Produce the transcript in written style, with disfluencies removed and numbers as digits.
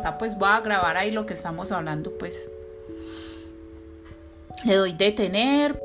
acá pues voy a grabar ahí lo que estamos hablando, pues le doy detener,